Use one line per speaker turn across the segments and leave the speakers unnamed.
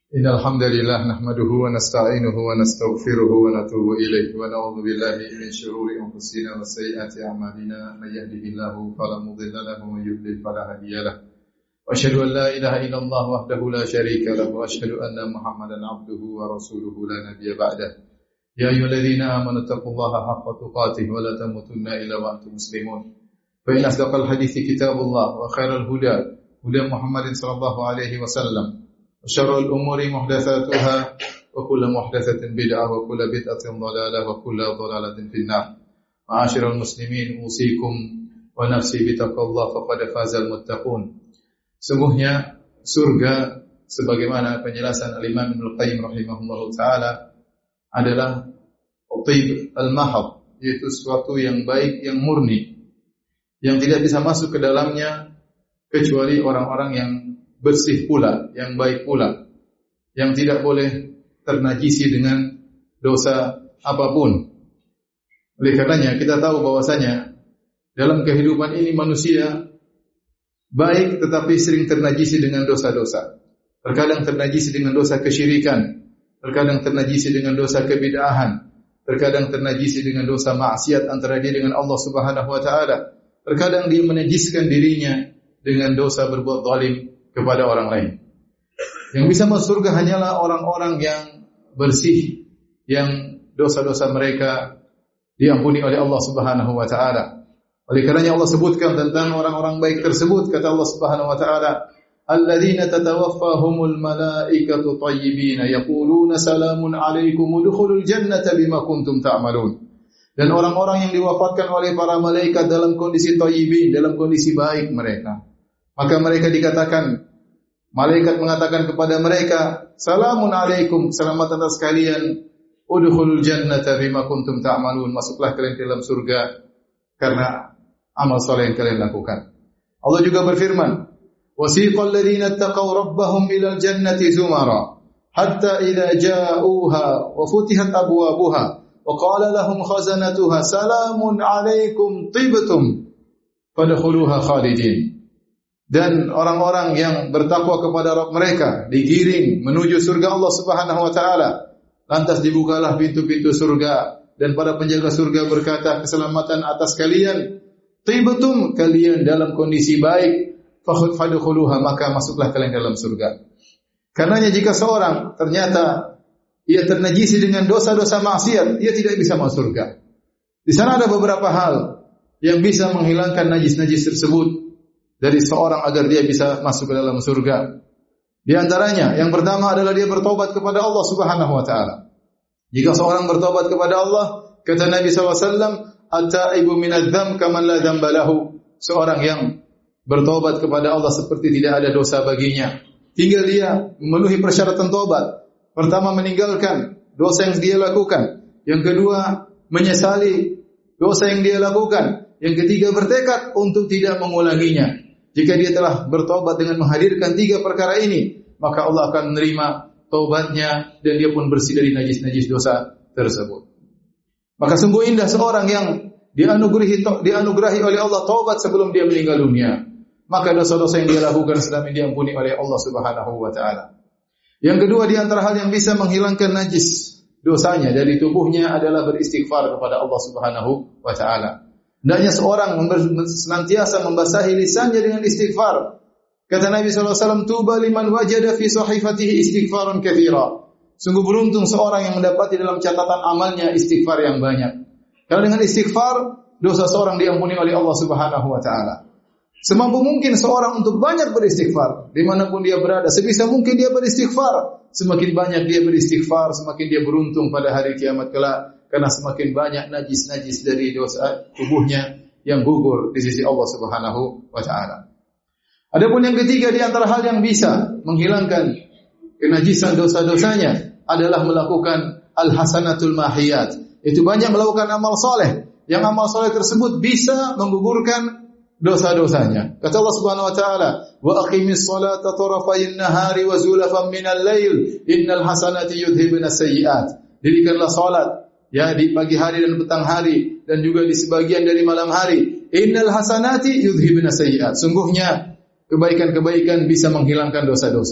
Innal hamdalillah nahmaduhu wa nasta'inuhu wa nastaghfiruhu wa natubu ilayhi wa na'udzu billahi min shururi anfusina wa sayyiati a'malina may yahdihillahu fala mudilla lahu wa may yudlil fala hadiya lahu wa asyhadu an la ilaha illallah wahdahu la syarika lahu wa asyhadu anna muhammadan 'abduhu wa rasuluhu la nabiyya ba'dah ya ayyuhalladzina amanu taqullaha haqqa tuqatih wa la tamutunna illa wa antum muslimun fa in asdaqal hadithi kitabullah wa khairal huda Muhammadin sallallahu alaihi wasallam syarrul umuri muhdatsatuha wa kullu muhdatsatin bid'ah wa kullu bid'atin dhalalah wa kullu dhalalatin finnar. Ma'asyiral muslimin, usikum wa nafsi bittaqwallah faqad fazal muttaqun. Sungguhnya surga sebagaimana penjelasan Al-Imam Ibnu Qayyim rahimahullahu taala adalah thib al-mahad, yaitu sesuatu yang baik, yang murni, yang tidak bisa masuk ke dalamnya kecuali orang-orang yang bersih pula, yang baik pula, yang tidak boleh ternajisi dengan dosa apapun. Oleh karenanya kita tahu bahwasanya dalam kehidupan ini manusia baik tetapi sering ternajisi dengan dosa-dosa. Terkadang ternajisi dengan dosa kesyirikan, terkadang ternajisi dengan dosa kebid'ahan, terkadang ternajisi dengan dosa maksiat antara dia dengan Allah Subhanahu wa taala. Terkadang dia menajiskan dirinya dengan dosa berbuat zalim kepada orang lain. Yang bisa masuk surga hanyalah orang-orang yang bersih, yang dosa-dosa mereka diampuni oleh Allah Subhanahu wa taala. Oleh karenanya Allah sebutkan tentang orang-orang baik tersebut, kata Allah Subhanahu wa taala, alladzina tatawaffahumul malaikatu thayyibina yaquluna salamun alaikum udkhulul jannata bima kuntum ta'malun. Dan orang-orang yang diwafatkan oleh para malaikat dalam kondisi thayyibin, dalam kondisi baik mereka. Maka mereka dikatakan, malaikat mengatakan kepada mereka, salamun alaikum, selamat atas kalian, udkhulul jannata bima kuntum ta'malun, masuklah kalian dalam surga karena amal saleh yang kalian lakukan. Allah juga berfirman, wasiqal ladzina ittaqaw rabbahum ilal jannati zumara hatta idza ja'uha wa futihat abwabuha wa qala lahum khazanatuha salamun alaikum tibtum fadkhuluha khalidin. Dan orang-orang yang bertakwa kepada Rabb mereka digiring menuju surga Allah Subhanahu wa taala. Lantas dibukalah pintu-pintu surga dan para penjaga surga berkata, keselamatan atas kalian, tibtum, kalian dalam kondisi baik, fadkhuluha, maka masuklah kalian dalam surga. Karenanya jika seorang ternyata ia ternajisi dengan dosa-dosa maksiat, ia tidak bisa masuk surga. Di sana ada beberapa hal yang bisa menghilangkan najis-najis tersebut dari seorang agar dia bisa masuk ke dalam surga. Di antaranya, yang pertama adalah dia bertobat kepada Allah Subhanahu wa taala. Jika seorang bertobat kepada Allah, kata Nabi SAW, at-taibu minadz-dzamb kaman la dzamba lahu. Seorang yang bertobat kepada Allah seperti tidak ada dosa baginya. Tinggal dia memenuhi persyaratan tobat. Pertama, meninggalkan dosa yang dia lakukan. Yang kedua, menyesali dosa yang dia lakukan. Yang ketiga, bertekad untuk tidak mengulanginya. Jika dia telah bertobat dengan menghadirkan tiga perkara ini, maka Allah akan menerima taubatnya dan dia pun bersih dari najis-najis dosa tersebut. Maka sungguh indah seorang yang dianugerahi oleh Allah taubat sebelum dia meninggal dunia. Maka dosa-dosa yang dia lakukan selama ini diampuni oleh Allah Subhanahu wa taala. Yang kedua di antara hal yang bisa menghilangkan najis dosanya dari tubuhnya adalah beristighfar kepada Allah Subhanahu wa taala. Hendaknya seorang senantiasa membasahi lisannya dengan istighfar. Kata Nabi SAW, tuba liman wajada fi sahifatihi istighfarun katsira. Sungguh beruntung seorang yang mendapati dalam catatan amalnya istighfar yang banyak. Karena dengan istighfar, dosa seorang diampuni oleh Allah Subhanahu wa taala. Semampu mungkin seorang untuk banyak beristighfar, dimanapun dia berada, sebisa mungkin dia beristighfar. Semakin banyak dia beristighfar, semakin dia beruntung pada hari kiamat kelak. Karena semakin banyak najis-najis dari dosa tubuhnya yang gugur di sisi Allah Subhanahu wa taala. Adapun yang ketiga di antara hal yang bisa menghilangkan kenajisan dosa-dosanya adalah melakukan al-hasanatul mahiyat. Itu banyak melakukan amal soleh. Yang amal soleh tersebut bisa menggugurkan dosa-dosanya. Kata Allah Subhanahu wa taala, "Wa aqimis salata tarafayn nahari wa zulafan minal lail, innal hasanati yudhibna sayyi'at." Dirikanlah salat ya di pagi hari dan petang hari dan juga di sebagian dari malam hari. Innal hasanati yudhibna sayyi'at. Sungguhnya kebaikan-kebaikan bisa menghilangkan dosa-dosa.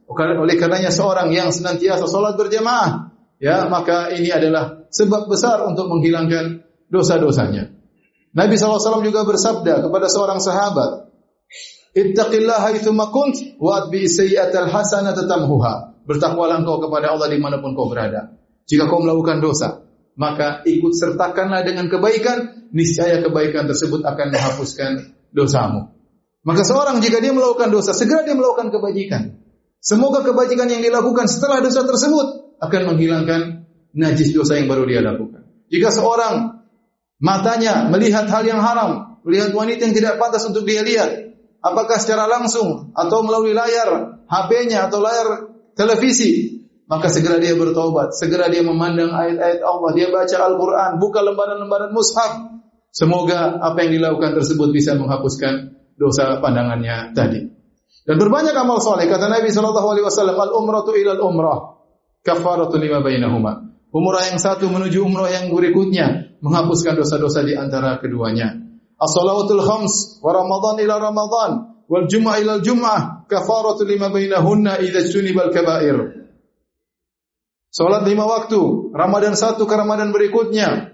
Oleh karenanya seorang yang senantiasa salat berjamaah, ya, maka ini adalah sebab besar untuk menghilangkan dosa-dosanya. Nabi SAW juga bersabda kepada seorang sahabat, "Ittaqillaha haitsuma kunt wa atbi sayyi'atal hasanata tamhuha." Bertakwalah engkau kepada Allah dimanapun kau berada. Jika kau melakukan dosa, maka ikut sertakanlah dengan kebaikan, niscaya kebaikan tersebut akan menghapuskan dosamu. Maka seorang jika dia melakukan dosa, segera dia melakukan kebajikan. Semoga kebajikan yang dilakukan setelah dosa tersebut akan menghilangkan najis dosa yang baru dia lakukan. Jika seorang matanya melihat hal yang haram, melihat wanita yang tidak pantas untuk dia lihat, apakah secara langsung atau melalui layar HP-nya atau layar televisi, maka segera dia bertaubat, segera dia memandang ayat-ayat Allah, dia baca Al-Quran, buka lembaran-lembaran mushaf. Semoga apa yang dilakukan tersebut bisa menghapuskan dosa pandangannya tadi. Dan berbanyak amal soleh. Kata Nabi SAW, al-umratu ilal umrah kafaratu lima bainahuma. Umrah yang satu menuju umrah yang berikutnya menghapuskan dosa-dosa di antara keduanya. As-salawatul khams wa Ramadan ila Ramadan wal jum'ah ila jum'ah kafaratu lima bainahunna idza junibal kaba'ir. Salat 5 waktu, Ramadan satu ke Ramadan berikutnya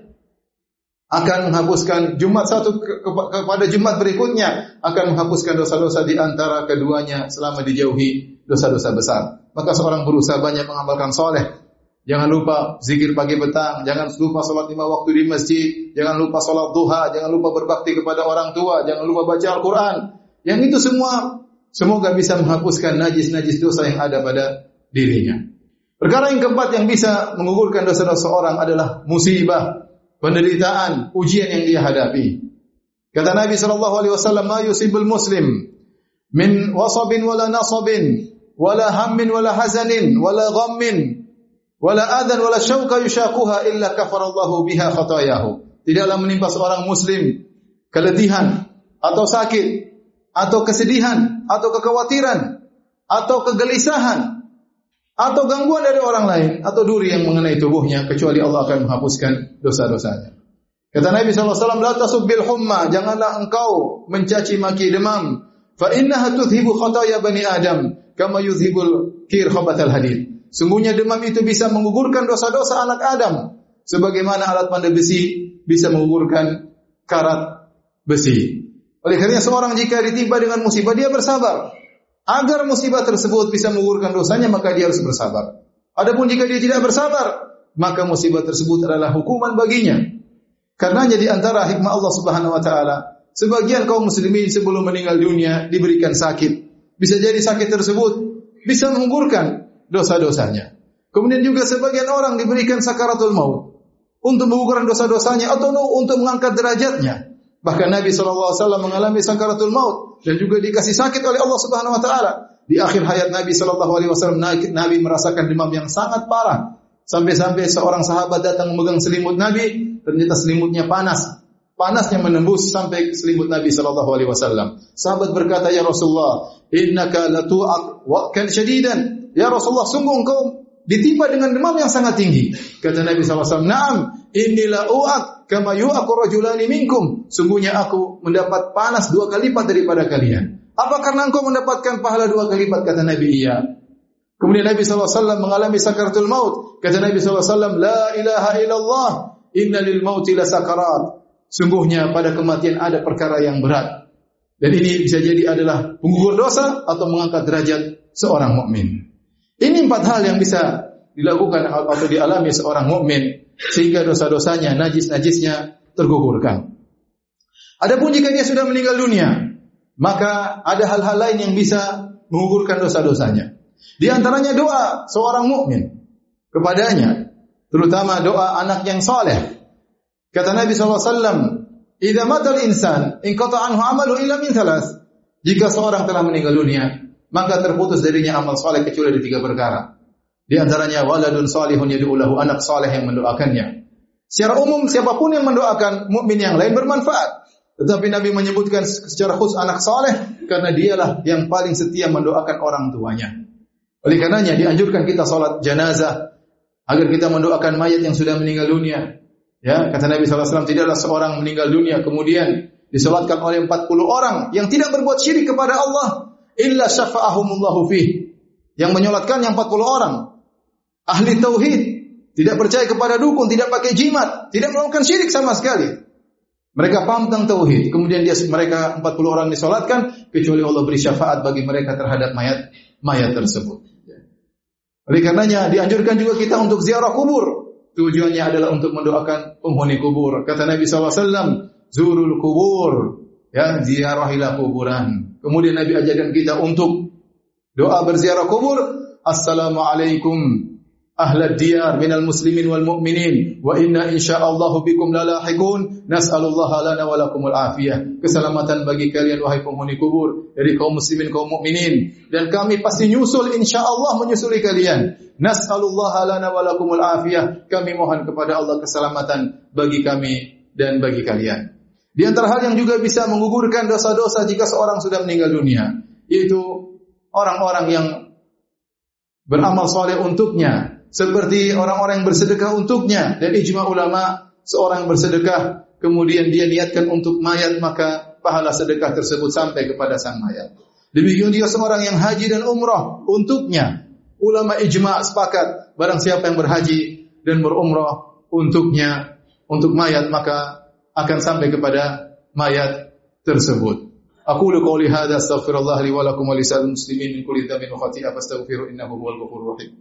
akan menghapuskan, Jumat satu kepada Jumat berikutnya akan menghapuskan dosa-dosa di antara keduanya selama dijauhi dosa-dosa besar. Maka seorang berusaha banyak mengamalkan soleh. Jangan lupa zikir pagi petang, jangan lupa salat 5 waktu di masjid, jangan lupa salat duha, jangan lupa berbakti kepada orang tua, jangan lupa baca Al-Quran. Yang itu semua semoga bisa menghapuskan najis-najis dosa yang ada pada dirinya. Perkara yang keempat yang bisa menggugurkan dosa-dosa orang adalah musibah, penderitaan, ujian yang dia hadapi. Kata Nabi SAW, "Ma yusibul muslim min wasabin wala nasabin wala hammin wala hazanin wala ghammin wala adan wala syauka yushaquha illa kafarallahu biha khatayahu." Tidaklah menimpa seorang muslim keletihan atau sakit atau kesedihan atau kekhawatiran atau kegelisahan atau gangguan dari orang lain atau duri yang mengenai tubuhnya kecuali Allah akan menghapuskan dosa-dosanya. Kata Nabi SAW, "La tasubbil humma," janganlah engkau mencaci maki demam. "Fa innaha tudhibu khataya bani Adam kama yudhibul kir khabathal hadid." Sungguhnya demam itu bisa menggugurkan dosa-dosa anak Adam sebagaimana alat pandai besi bisa menggugurkan karat besi. Oleh karena seorang jika ditimpa dengan musibah dia bersabar. Agar musibah tersebut bisa menggugurkan dosanya, maka dia harus bersabar. Adapun jika dia tidak bersabar, maka musibah tersebut adalah hukuman baginya. Karenanya di antara hikmah Allah Subhanahu wa taala, sebagian kaum muslimin sebelum meninggal dunia diberikan sakit. Bisa jadi sakit tersebut bisa menggugurkan dosa-dosanya. Kemudian juga sebagian orang diberikan sakaratul maut untuk menggugurkan dosa-dosanya atau untuk mengangkat derajatnya. Bahkan Nabi SAW mengalami sakaratul maut dan juga dikasih sakit oleh Allah Subhanahu wa taala. Di akhir hayat Nabi SAW, Nabi merasakan demam yang sangat parah. Sampai-sampai seorang sahabat datang memegang selimut Nabi, ternyata selimutnya panas. Panasnya menembus sampai selimut Nabi SAW. Sahabat berkata, "Ya Rasulullah, innaka latu'aq wa'kan syadidan." Ya Rasulullah, sungguh engkau ditimpa dengan demam yang sangat tinggi. Kata Nabi SAW, "Na'am, innila u'aq kama yu'aqu rajulani minkum." Sungguhnya aku mendapat panas 2 kali lipat daripada kalian. Apa karena engkau mendapatkan pahala 2 kali lipat? Kata Nabi, iya. Kemudian Nabi SAW mengalami sakaratul maut. Kata Nabi SAW, "La ilaha illallah, inna lil mauti la sakarat." Sungguhnya pada kematian ada perkara yang berat. Dan ini bisa jadi adalah penggugur dosa atau mengangkat derajat seorang mukmin. Ini 4 hal yang bisa dilakukan atau dialami seorang mukmin sehingga dosa-dosanya, najis-najisnya tergugurkan. Adapun jika dia sudah meninggal dunia, maka ada hal-hal lain yang bisa menggugurkan dosa-dosanya. Di antaranya doa seorang mukmin kepadanya, terutama doa anak yang saleh. Kata Nabi SAW, "Idza matal insan inqata anhu amalu illa min thalath." Jika seorang telah meninggal dunia, maka terputus darinya amal saleh kecuali dari 3 perkara. Di antaranya waladun salihun yad'u lahu, anak saleh yang mendoakannya. Secara umum siapapun yang mendoakan mukmin yang lain bermanfaat. Tetapi Nabi menyebutkan secara khusus anak saleh karena dialah yang paling setia mendoakan orang tuanya. Oleh karenanya dianjurkan kita salat jenazah agar kita mendoakan mayat yang sudah meninggal dunia. Ya, kata Nabi SAW, tidaklah seorang meninggal dunia kemudian disolatkan oleh 40 orang yang tidak berbuat syirik kepada Allah illa syafa'ahumullahu fih. Yang menyolatkan yang 40 orang. Ahli tauhid, tidak percaya kepada dukun, tidak pakai jimat, tidak melakukan syirik sama sekali. Mereka paham tentang tauhid. Kemudian mereka 40 orang disolatkan, kecuali Allah beri syafaat bagi mereka terhadap mayat tersebut. Oleh karenanya dianjurkan juga kita untuk ziarah kubur. Tujuannya adalah untuk mendoakan penghuni kubur. Kata Nabi SAW, zurul kubur, ya, ziarahilah kuburan. Kemudian Nabi ajarkan kita untuk doa berziarah kubur. Assalamualaikum ahlad diyar minal muslimin wal mu'minin wa inna insyaallahu bikum lalahiqun nas'alullaha lana wa lakumul afiyah. Keselamatan bagi kalian wahai penghuni kubur dari kaum muslimin kaum mukminin, dan kami pasti nyusul insyaallah menyusuli kalian. Nas'alullaha lana wa lakumul afiyah. Kami mohon kepada Allah keselamatan bagi kami dan bagi kalian. Di antara hal yang juga bisa menggugurkan dosa-dosa jika seorang sudah meninggal dunia, yaitu orang-orang yang beramal saleh untuknya, seperti orang-orang yang bersedekah untuknya. Dan ijma ulama, seorang bersedekah kemudian dia niatkan untuk mayat, maka pahala sedekah tersebut sampai kepada sang mayat. Demikian juga seorang yang haji dan umrah untuknya. Ulama ijma sepakat, barang siapa yang berhaji dan berumrah untuknya, untuk mayat, maka akan sampai kepada mayat tersebut. Aqulu qouli hadza astaghfirullah li wa lakum wa lisa'il muslimin min kulli dhanbin wa khati'ah fastaghfiru innahu huwal ghafurur rahim.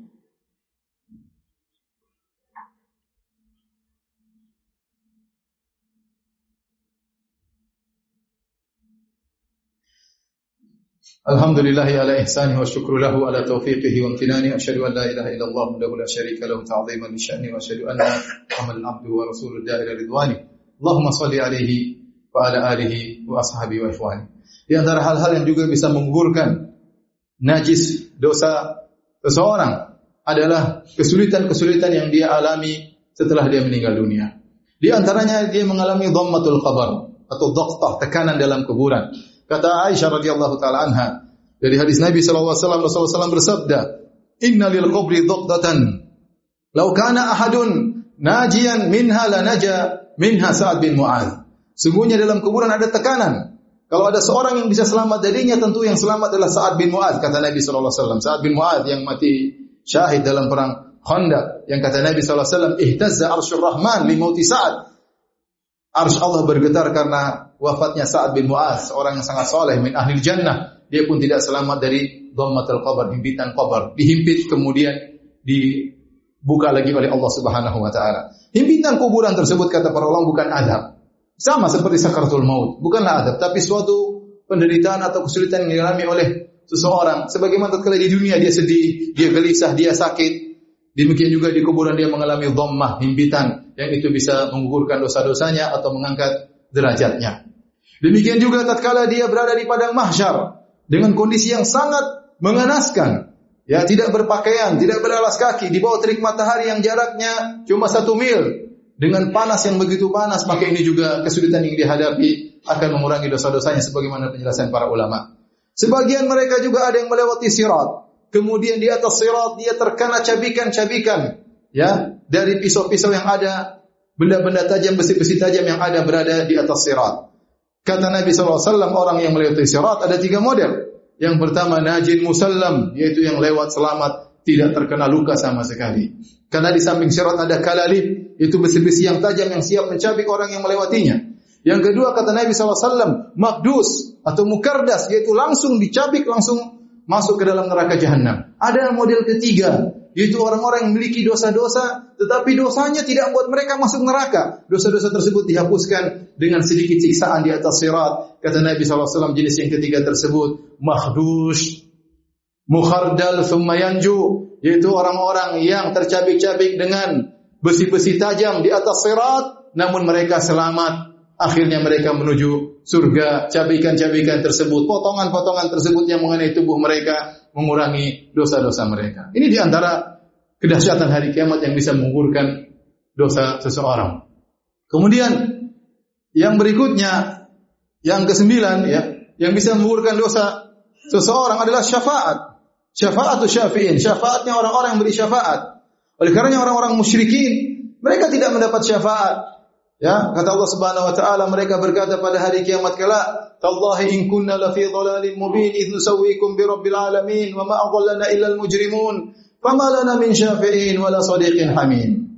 Alhamdulillahi ala ihsanihi wa syukru lahu ala taufiqihi wa amtinani. Asyhadu an la ilaha illallah wahdahu la syarika lahu ta'dhiman li sya'ni wa asyhadu anna Muhammadan abduhu wa rasuluhu da'ila ridwani. Allahumma shalli alaihi wa ala alihi wa ashabihi wa ikhwani. Di antara hal-hal yang juga bisa menggugurkan najis dosa seseorang adalah kesulitan-kesulitan yang dia alami setelah dia meninggal dunia. Di antaranya dia mengalami dhammatul qabr atau dhaqtah, tekanan dalam kuburan. Kata Aisyah radhiyallahu taala anha, dari hadis Nabi sallallahu alaihi wasallam bersabda, "Inna lil qabri dhaqtatan, law kana ahadun najian minha la naja minha Sa'ad bin Mu'adz." Sungguhnya dalam kuburan ada tekanan. Kalau ada seorang yang bisa selamat darinya, tentu yang selamat adalah Sa'ad bin Mu'adz, kata Nabi sallallahu alaihi wasallam. Sa'ad bin Mu'adz yang mati syahid dalam perang Khandaq, yang kata Nabi sallallahu alaihi wasallam, "Ihtazza arsyur rahman li mauti Sa'ad." Arsy Allah bergetar karena wafatnya Sa'ad bin Mu'adz, orang yang sangat saleh min ahlil jannah. Dia pun tidak selamat dari dhammatul qabr, himpitan qabr. Dihimpit kemudian dibuka lagi oleh Allah Subhanahu wa taala. Himpitan kuburan tersebut, kata para ulama, bukan adab. Sama seperti sakaratul maut, bukanlah adab, tapi suatu penderitaan atau kesulitan yang dialami oleh seseorang. Sebagaimana tatkala di dunia dia sedih, dia gelisah, dia sakit, demikian juga di kuburan dia mengalami dhammah, himpitan, yang itu bisa menggugurkan dosa-dosanya atau mengangkat derajatnya. Demikian juga tatkala dia berada di padang mahsyar dengan kondisi yang sangat mengenaskan, ya, tidak berpakaian, tidak beralas kaki, di bawah terik matahari yang jaraknya cuma 1 mil, dengan panas yang begitu panas, maka ini juga kesulitan yang dihadapi akan mengurangi dosa-dosanya sebagaimana penjelasan para ulama. Sebagian mereka juga ada yang melewati sirat. Kemudian di atas sirat dia terkena cabikan-cabikan, ya, dari pisau-pisau yang ada, benda-benda tajam, besi-besi tajam yang ada berada di atas sirat. Kata Nabi SAW, orang yang melewati sirat ada 3 model. Yang pertama, najin musallam, yaitu yang lewat selamat, tidak terkena luka sama sekali. Karena di samping sirat ada kalalib, itu besi-besi yang tajam yang siap mencabik orang yang melewatinya. Yang kedua, kata Nabi SAW, makdus atau mukardas, yaitu langsung dicabik, langsung masuk ke dalam neraka jahanam. Ada model ketiga, yaitu orang-orang yang memiliki dosa-dosa, tetapi dosanya tidak membuat mereka masuk neraka. Dosa-dosa tersebut dihapuskan dengan sedikit siksaan di atas sirat. Kata Nabi SAW, jenis yang ketiga tersebut, mahdus, mukhardal, thumma yanju, yaitu orang-orang yang tercabik-cabik dengan besi-besi tajam di atas sirat, namun mereka selamat. Akhirnya mereka menuju surga. Cabikan-cabikan tersebut, potongan-potongan tersebut yang mengenai tubuh mereka mengurangi dosa-dosa mereka. Ini di antara kedahsyatan hari kiamat yang bisa menggugurkan dosa seseorang. Kemudian yang berikutnya, yang ke-9, ya, yang bisa menggugurkan dosa seseorang adalah syafaat. Syafa'atu syafi'in, syafaatnya orang-orang yang beri syafaat. Oleh karenanya orang-orang musyrikin, mereka tidak mendapat syafaat. Ya, kata Allah Subhanahu wa taala, mereka berkata pada hari kiamat kelak, "Tallahi in kunna la fi dhalalin mubin idh nusawwikum bi rabbil alamin wa ma adallana illa al mujrimun fama lana min syafi'in wala sadiqin hamim."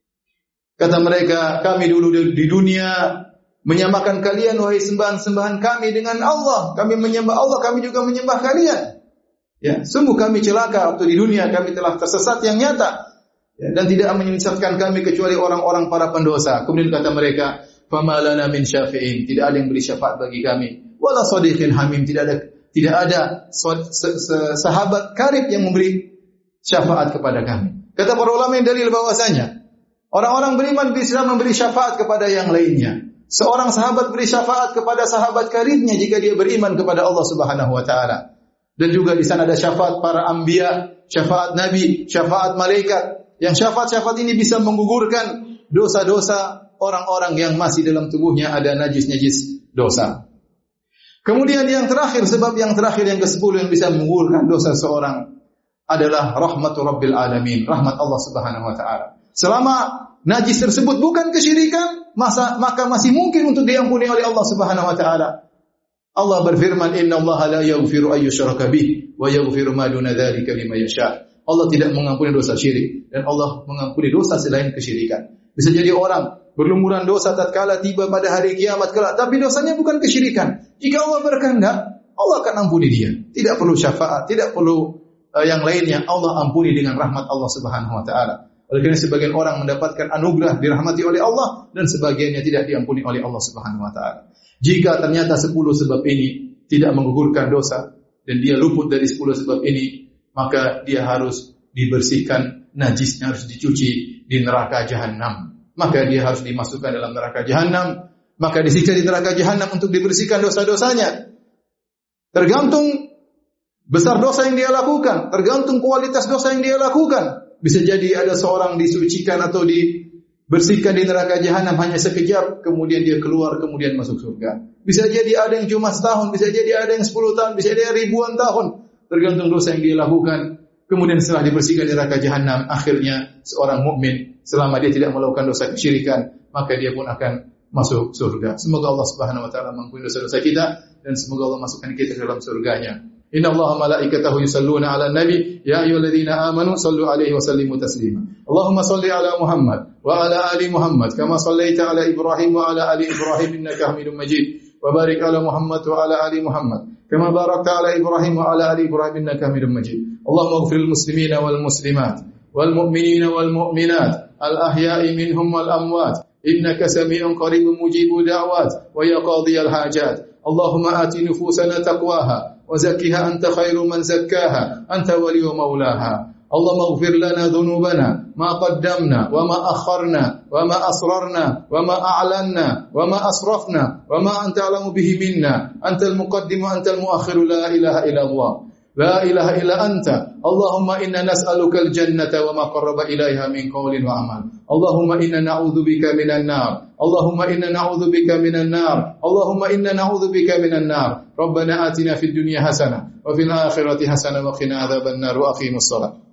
Kata mereka, kami dulu di dunia menyamakan kalian wahai sembahan-sembahan kami dengan Allah. Kami menyembah Allah, kami juga menyembah kalian. Ya, sungguh kami celaka waktu di dunia, kami telah tersesat yang nyata. Ya, dan tidak menyesatkan kami kecuali orang-orang para pendosa. Kemudian kata mereka, "Fama lana min syafi'in." Tidak ada yang beri syafaat bagi kami. Wala sadiqin hamim. Tidak ada sahabat karib yang memberi syafaat kepada kami. Kata para ulama yang dalil bahwasanya orang-orang beriman bisa memberi syafaat kepada yang lainnya. Seorang sahabat beri syafaat kepada sahabat karibnya jika dia beriman kepada Allah Subhanahu wa taala. Dan juga di sana ada syafaat para anbiya, syafaat nabi, syafaat malaikat. Yang syafaat-syafaat ini bisa menggugurkan dosa-dosa orang-orang yang masih dalam tubuhnya ada najis-najis dosa. Kemudian yang terakhir, sebab yang terakhir yang ke-10 yang bisa menggugurkan dosa seorang adalah rahmatu rabbil alamin, rahmat Allah Subhanahu wa taala. Selama najis tersebut bukan kesyirikan, maka masih mungkin untuk diampuni oleh Allah Subhanahu wa taala. Allah berfirman, "Innallaha la yaghfiru ay yushraka bih wa yaghfiru ma duna dzalika liman yasha." Allah tidak mengampuni dosa syirik dan Allah mengampuni dosa selain kesyirikan. Bisa jadi orang berlumuran dosa tatkala tiba pada hari kiamat kelak, tapi dosanya bukan kesyirikan. Jika Allah berkehendak, Allah akan ampuni dia. Tidak perlu syafaat, tidak perlu yang lainnya. Allah ampuni dengan rahmat Allah Subhanahu wa taala. Oleh karena sebagian orang mendapatkan anugerah dirahmati oleh Allah dan sebagiannya tidak diampuni oleh Allah Subhanahu wa taala. Jika ternyata 10 sebab ini tidak menggugurkan dosa dan dia luput dari 10 sebab ini, maka dia harus dibersihkan, najisnya harus dicuci di neraka jahanam. Maka dia harus dimasukkan dalam neraka jahanam, maka disiksa di neraka jahanam untuk dibersihkan dosa-dosanya. Tergantung besar dosa yang dia lakukan, tergantung kualitas dosa yang dia lakukan. Bisa jadi ada seorang disucikan atau dibersihkan di neraka jahanam hanya sekejap, kemudian dia keluar, kemudian masuk surga. Bisa jadi ada yang cuma setahun, bisa jadi ada yang 10 tahun, bisa jadi ribuan tahun. Tergantung dosa yang dia lakukan. Kemudian setelah dibersihkan di neraka jahanam, akhirnya seorang mukmin selama dia tidak melakukan dosa kesyirikan, maka dia pun akan masuk surga. Semoga Allah Subhanahu wa taala mengampuni dosa-dosa kita dan semoga Allah masukkan kita ke dalam surganya. Innallaha malaikatahu yusalluna 'alan nabi ya ayyuhalladzina amanu sallu 'alaihi wa sallimu taslima. Allahumma shalli 'ala Muhammad wa 'ala ali Muhammad kama shallaita 'ala Ibrahim wa 'ala ali Ibrahim innaka Hamidum Majid. Wa barik 'ala Muhammad wa 'ala ali Muhammad كما باركت على إبراهيم وعلى آل إبراهيم إنك حميد مجيد اللهم اغفر للمسلمين والمسلمات والمؤمنين والمؤمنات الأحياء منهم والأموات إنك سميع قريب مجيب دعوات ويا قاضي الحاجات اللهم آت نفوسنا تقواها وزكها أنت خير من زكاها أنت ولي مولاها اللهم اغفر لنا ذنوبنا ما قدمنا وما أخرنا وما أسررنا وما أعلنا وما أسرفنا وما أنت أعلم به منا أنت المقدم وأنت المؤخر لا إله إلا الله لا إله إلا أنت اللهم إنا نسألك الجنة وما قرب إليها من قول وعمل اللهم إنا نعوذ بك من النار اللهم إنا نعوذ بك من النار اللهم إنا نعوذ بك من النار ربنا آتنا في الدنيا حسنة وفي الآخرة حسنة وقنا عذاب النار وأقيموا الصلاة